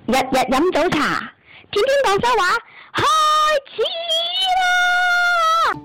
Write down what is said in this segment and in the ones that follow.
日日飲早茶，天天廣州話，開始啦！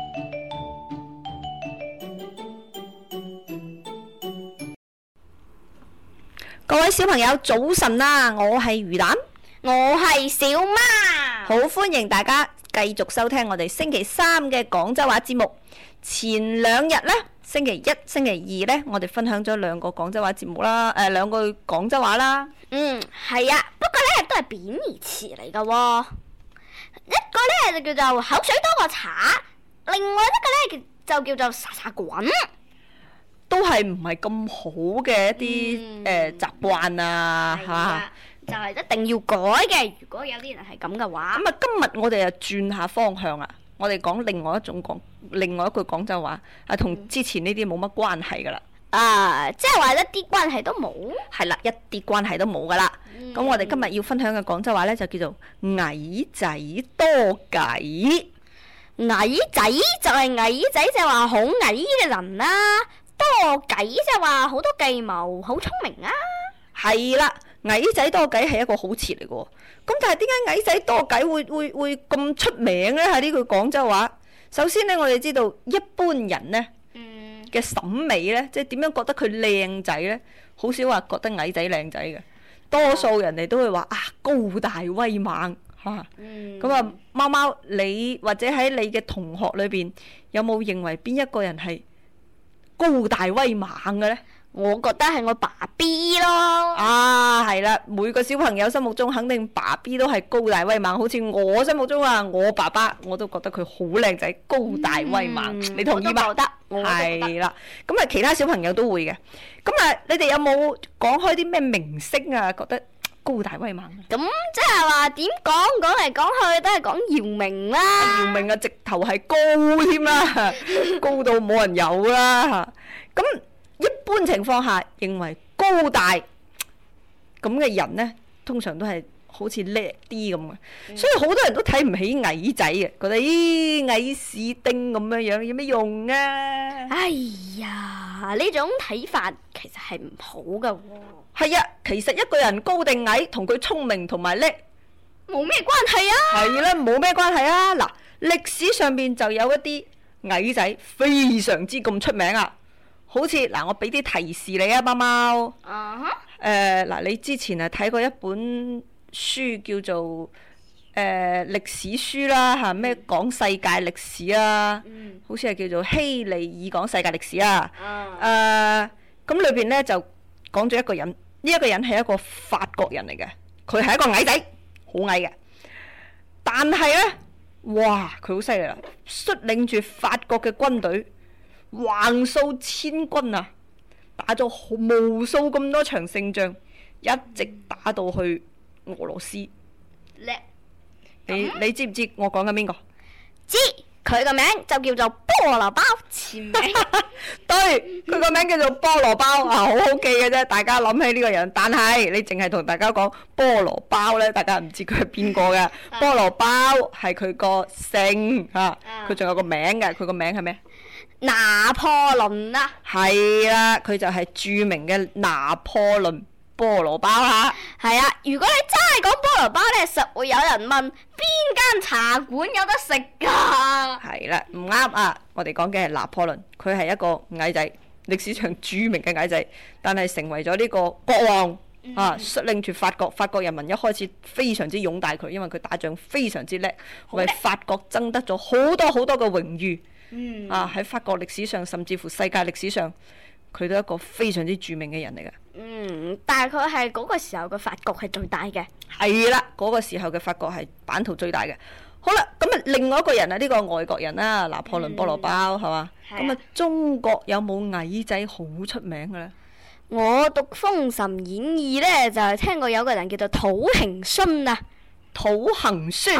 各位小朋友早晨啦，我係魚蛋， 我係小媽， 好歡迎大家繼續收聽我哋星期三嘅廣州話節目。前兩日呢，星期一、星期二呢，我哋分享咗兩個廣州話節目啦，兩句廣州話啦。 係啊，不過呢都係貶義詞嚟噶喎。一個呢就叫做口水多過茶，另外一個呢就叫做沙沙滾。 都係唔係咁好嘅一啲習慣啊嚇， 就係一定要改嘅。如果有啲人係咁嘅話， 咁啊今日我哋又轉下方向啦，我哋講另外一句廣州話，同之前呢啲冇乜關係噶啦。 即係話一啲關係都冇。 係啦，一啲關係都冇噶啦。咁我哋今日要分享嘅廣州話呢，就叫做矮仔多計。 矮仔就係矮仔，就係話好矮嘅人啦。多計即係話好多計謀，好聰明啊！ 係啦，矮仔多計係一個好詞嚟嘅喎。咁但係點解矮仔多計會咁出名呢？喺呢句廣州話，首先呢，我哋知道一般人呢嘅審美呢，即係點樣覺得佢靚仔呢？好少話覺得矮仔靚仔嘅，多數人哋都會話高大威猛嚇。咁啊，貓貓你或者喺你嘅同學裏邊有冇認為邊一個人係高大威猛嘅呢？ 我覺得係我爸 B 咯。 係啦，每個小朋友心目中肯定爸 B 都係高大威猛，好似我心目中我爸爸我都覺得佢好靚仔，高大威猛。你同意嗎？ 我都覺得。 係啦，咁其他小朋友都會嘅。咁你哋有冇講開啲咩明星啊？覺得高大威猛？ 咁即係話點講嚟講去都係講姚明啦。 姚明直頭係高添啦，高到冇人有啦。咁一般情況下，認為高大咁嘅人呢，通常都係好似叻啲咁嘅，所以好多人都睇唔起矮仔嘅，覺得矮屎丁咁樣有咩用啊？ 哎呀，呢種睇法其實係唔好噶喎。 係啊，其實一個人高定矮同佢聰明同埋叻冇咩關係啊。 係啦，冇咩關係啊。嗱，歷史上邊就有一啲矮仔非常之咁出名啊。好似嗱，我俾啲提示你啊，貓貓。嗱，你之前睇過一本書叫做歷史書啦嚇，咩講世界歷史啊？好似係叫做希利爾講世界歷史啊。咁裏邊呢，就講咗一個人，呢一個人係一個法國人嚟嘅，佢係一個矮仔，好矮嘅。但係呢，哇，佢好犀利啦，率領住法國嘅軍隊，橫掃千軍啊！打咗無數咁多場勝仗，一直打到去俄羅斯。 叻！ 你知唔知我講緊邊個？ 知，佢個名就叫做菠蘿包，前名。 對，佢個名叫做菠蘿包好好記嘅啫，大家諗起呢個人。但係你淨係同大家講菠蘿包呢，大家唔知佢係邊個嘅。菠蘿包係佢個姓佢仲有個名嘅，佢個名係咩？ 拿破崙啊， 係啦，佢就係著名嘅拿破崙菠蘿包啦。 係啊，如果你真係講菠蘿包呢，實會有人問邊間茶館有得食㗎？ 係啦，唔啱啊！我哋講嘅係拿破崙，佢係一個矮仔，歷史上著名嘅矮仔，但係成為咗呢個國王率領住法國人民一開始非常之擁戴佢，因為佢打仗非常之叻，為法國爭得咗好多好多嘅榮譽。喺法國歷史上，甚至乎世界歷史上，佢都係一個非常之著名嘅人嚟嘅。 但係佢係嗰個時候嘅法國係最大嘅。 係啦，嗰個時候嘅法國係版圖最大嘅。好啦，咁另外一個人呢個外國人啦，拿破崙菠蘿包係嘛？咁中國有冇矮仔好出名嘅呢？ 我讀《封神演義》呢，就係聽過有個人叫做土行孫啊。 土行孫，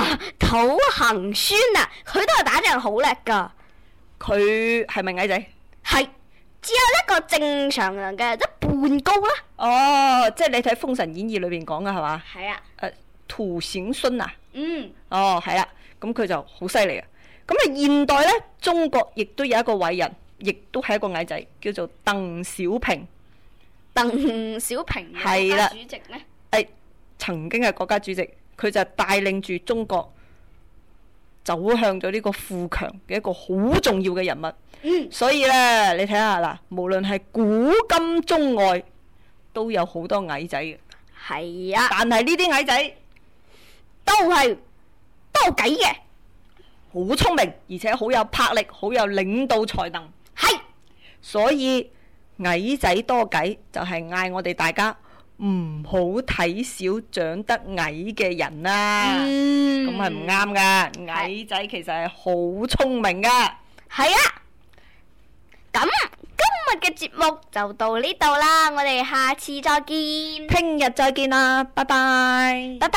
佢都係打仗好叻噶。 佢係咪矮仔？ 係，只有一個正常人嘅一半高啦。 即係你睇《封神演義》裏邊講嘅係嘛？ 係啊。 土行孫啊？係啦，咁佢就好犀利啊！咁現代呢，中國亦都有一個偉人，亦都係一個矮仔，叫做鄧小平。 鄧小平係啦， 主席咩？ 曾經嘅國家主席，佢就帶領住中國走向咗呢個富強嘅一個好重要嘅人物。所以呢，你睇下嗱，無論係古今中外，都有好多矮仔嘅。 係啊， 但係呢啲矮仔都係多計嘅， 好聰明，而且好有魄力，好有領導才能。 係， 所以矮仔多計就係嗌我哋大家唔好睇小長得矮嘅人啦。咁係唔啱噶，矮仔其實係好聰明噶。 係啊。咁今日嘅節目就到呢度啦，我哋下次再見， 聽日再見啦，拜拜， 拜拜。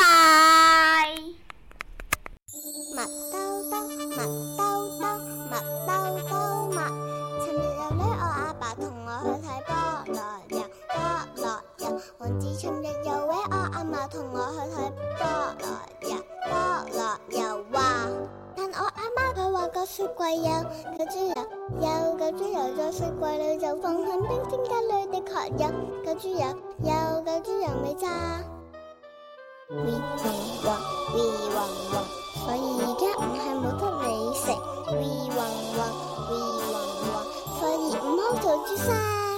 麥兜兜，麥兜兜，麥兜兜麥。尋日有呢，我阿爸同我去睇菠蘿油，菠蘿油。黃子尋日有呢，我阿嫲同我去睇菠蘿油，菠蘿油話。但我阿媽佢話個雪櫃有九豬油，有九豬油在雪櫃裏就放響冰鮮格裏的確有九豬油，有九豬油未炸。We 黃黃 We 黃黃，所以而家唔係冇得你食。We 黃黃 We 黃黃，所以唔好做豬生。